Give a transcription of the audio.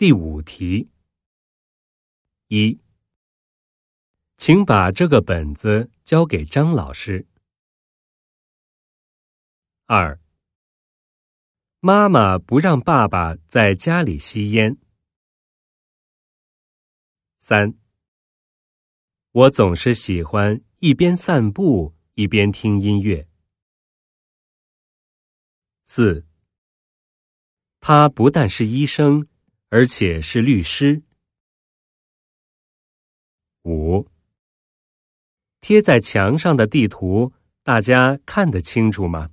第5题。1，请把这个本子交给张老师。2，妈妈不让爸爸在家里吸烟。3，我总是喜欢一边散步一边听音乐。4，他不但是医生，而且是律师。5，贴在墙上的地图，大家看得清楚吗？